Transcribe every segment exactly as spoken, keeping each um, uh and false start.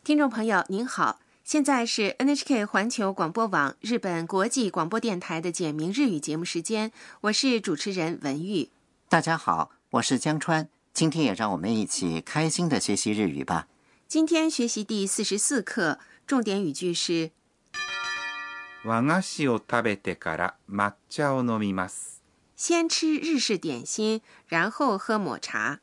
听众朋友您好，现在是 N H K 环球广播网日本国际广播电台的简明日语节目时间，我是主持人文玉。 大家好，我是江川，今天也让我们一起开心的学习日语吧。 今天学习第四十四课，重点语句是和菓子を食べてから抹茶を飲みます。 先吃日式点心，然后喝抹茶。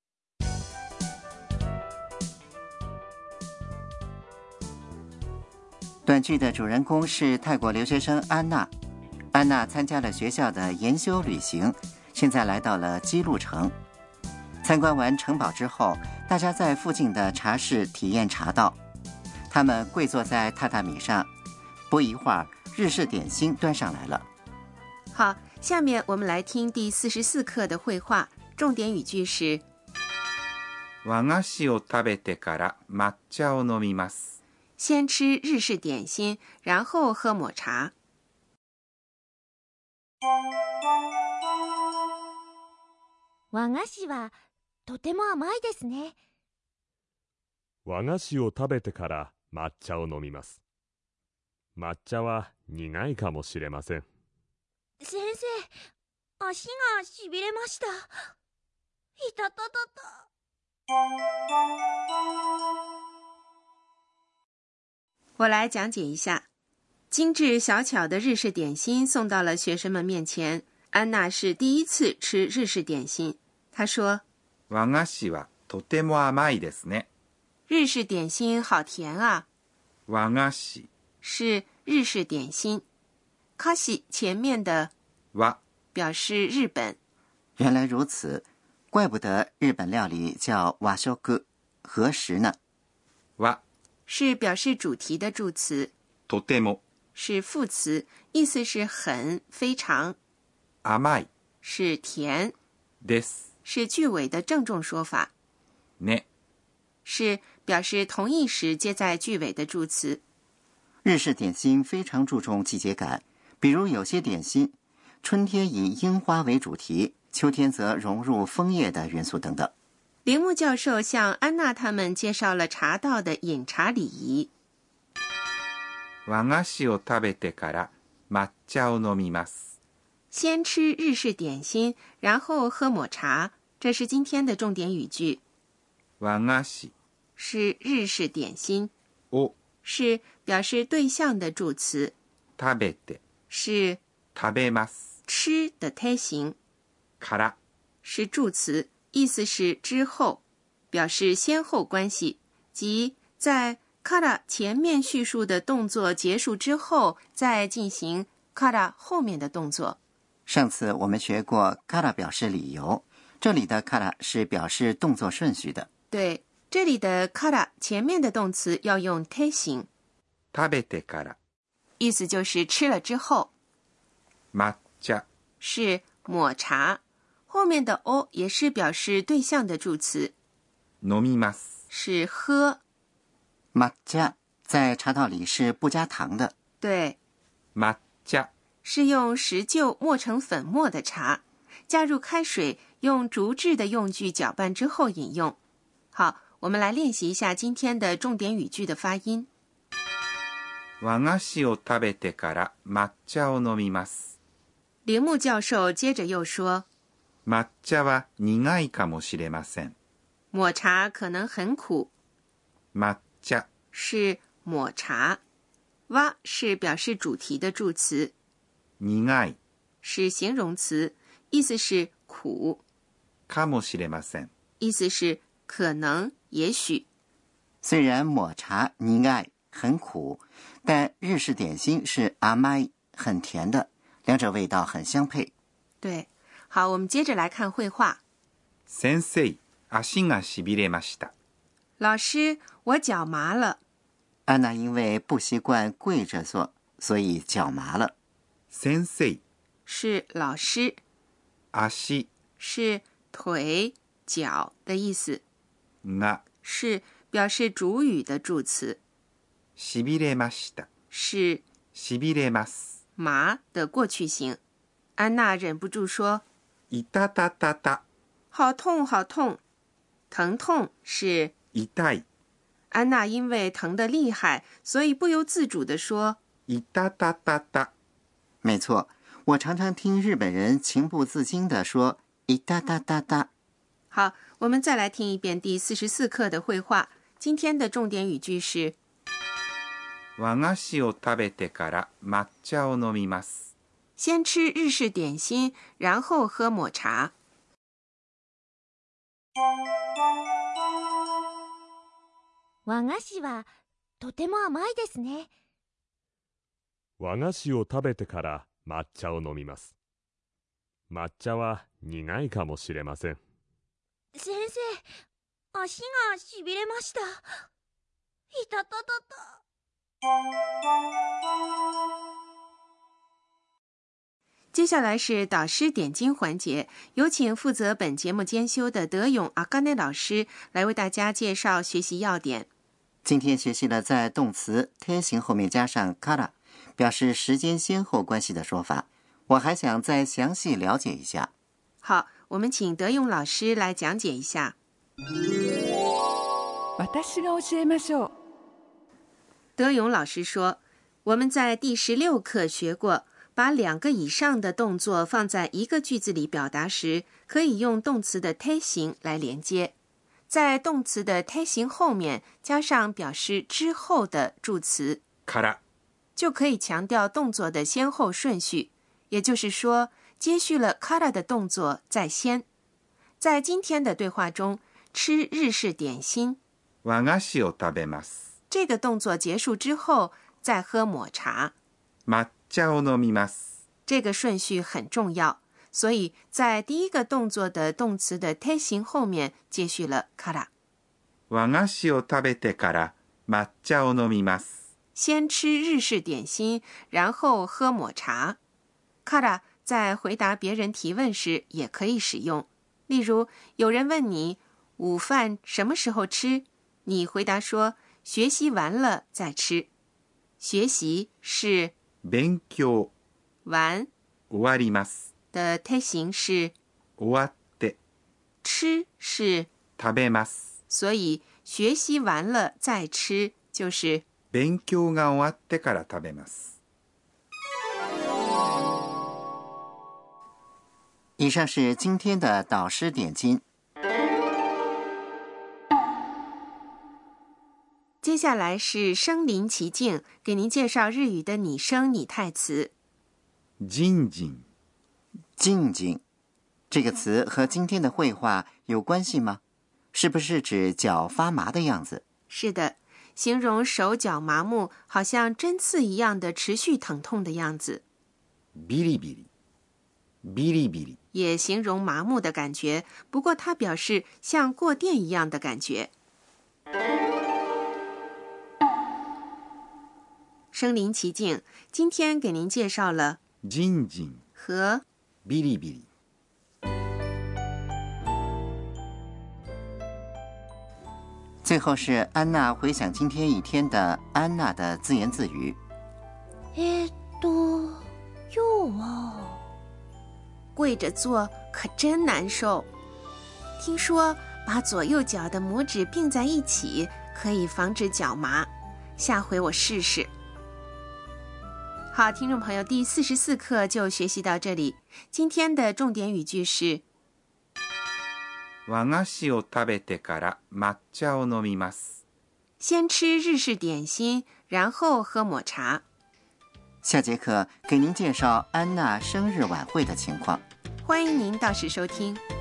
短剧的主人公是泰国留学生安娜。安娜参加了学校的研修旅行，现在来到了姬路城。参观完城堡之后，大家在附近的茶室体验茶道。他们跪坐在榻榻米上，不一会儿，日式点心端上来了。 好，下面我们来听第四十四课的绘画，重点语句是和菓子を食べてから抹茶を飲みます。 先吃日式点心，然后喝抹茶。 和菓子はとても甘いですね。 和菓子を食べてから抹茶を飲みます。抹茶は苦いかもしれません。 先生、足がしびれました。いたたたた。 我来讲解一下，精致小巧的日式点心送到了学生们面前。安娜是第一次吃日式点心，她说：“ 和菓子はとても甘いですね。” 日式点心好甜啊！ 和菓子是日式点心，卡西前面的和表示日本。 原来如此，怪不得日本料理叫和食和食呢。 和是表示主题的助词， とても是副词，意思是很、非常。 甘い是甜， です是句尾的郑重说法。 ね是表示同义时接在句尾的助词。 日式点心非常注重季节感，比如有些点心，春天以樱花为主题，秋天则融入枫叶的元素等等。 铃木教授向安娜他们介绍了茶道的饮茶礼仪。 和菓子を食べてから抹茶を飲みます。 先吃日式点心，然后喝抹茶，这是今天的重点语句。 和菓子是日式点心， を是表示对象的助词， 食べて是食べます吃的胎形， から是助词，意思是之后，表示先后关系，即在 kara 前面叙述的动作结束之后，再进行 kara 后面的动作。 上次我们学过 kara 表示理由，这里的 kara 是表示动作顺序的。 对，这里的 kara 前面的动词要用胎形， 食べてから意思就是吃了之后。 抹茶是抹茶，后面的 o 也是表示对象的助词， 飲みます是喝。 抹茶在茶道里是不加糖的。 对， 抹茶是用石臼磨成粉末的茶，加入开水，用竹制的用具搅拌之后饮用。好，我们来练习一下今天的重点语句的发音。 和菓子を食べてから抹茶を飲みます。 铃木教授接着又说， 抹茶は苦いかもしれません。 抹茶可能很苦。 抹茶是抹茶，哇是表示主题的助词， 苦い是形容词，意思是苦， かもしれません。 意思是可能、也许。 虽然抹茶苦い很苦，但日式点心是甘い很甜的，两者味道很相配。 对，好，我们接着来看绘画。 先生、足がしびれました。 老师，我脚麻了。 安娜因为不习惯跪着做，所以脚麻了。 先生是老师， 足是腿、脚的意思， が是表示主语的助词， しびれました。 是しびれます。 麻的过去形。安娜忍不住说：“ いたたたた。 好痛，好痛！疼痛是痛い。 安娜因为疼得厉害，所以不由自主地说いたたたた。 没错，我常常听日本人情不自禁地说いたたたた。 好，我们再来听一遍第四十四课的绘画。今天的重点语句是和菓子を食べてから抹茶を飲みます。 先吃日式点心，然后喝抹茶。 和菓子はとても甘いですね。 和菓子を食べてから抹茶を飲みます。抹茶は苦いかもしれません。 先生、足がしびれました。いたたたた。 接下来是导师点睛环节，有请负责本节目监修的德勇阿甘内老师来为大家介绍学习要点。 今天学习了在动词贴形后面加上 から表示时间先后关系的说法，我还想再详细了解一下。 好，我们请德勇老师来讲解一下。 私が教えましょう。 德勇老师说，我们在第十六课学过，把两个以上的动作放在一个句子里表达时，可以用动词的贴形来连接，在动词的贴形后面加上表示之后的助词から， 就可以强调动作的先後顺序，也就是说，接续了から的动作在先。在今天的对话中，吃日式点心， 和菓子を食べます。 这个动作结束之后，再喝抹茶。 抹茶を飲みます。 这个顺序很重要，所以在第一个动作的动词的贴形后面接续了から。 和菓子を食べてから抹茶を飲みます。 先吃日式点心，然后喝抹茶。から在回答别人提问时也可以使用。例如，有人问你午饭什么时候吃，你回答说学习完了再吃。学习是勉強完終わります。 的贴形是終わって。 吃是食べます。 所以学习完了再吃就是勉強が終わってから食べます。 以上是今天的导师点睛。 接下来是身临其境，给您介绍日语的拟声拟态词。 ジンジン。 静静这个词和今天的绘画有关系吗？是不是指脚发麻的样子？ 是的，形容手脚麻木，好像针刺一样的持续疼痛的样子。 ビリビリ。ビリビリ。 也形容麻木的感觉，不过它表示像过电一样的感觉。身临其境，今天给您介绍了ジンジン和ビリビリ。 最后是安娜回想今天一天的安娜的自言自语。 えーっと、今日は跪着做可真难受。听说把左右脚的拇指并在一起可以防止脚麻，下回我试试。好，听众朋友，第四十四课就学习到这里。今天的重点语句是和菓子を食べてから抹茶を飲みます。 先吃日式点心，然后喝抹茶。 下节课给您介绍安娜生日晚会的情况。 欢迎您到时收听。